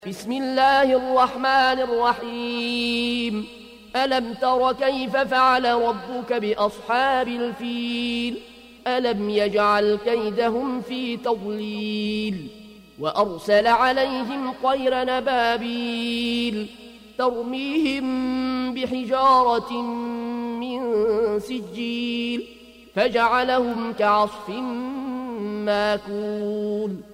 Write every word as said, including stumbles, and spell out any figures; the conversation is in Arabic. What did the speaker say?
بسم الله الرحمن الرحيم. ألم تر كيف فعل ربك بأصحاب الفيل؟ ألم يجعل كيدهم في تضليل وأرسل عليهم طير نبابيل ترميهم بحجارة من سجيل فجعلهم كعصف ماكول.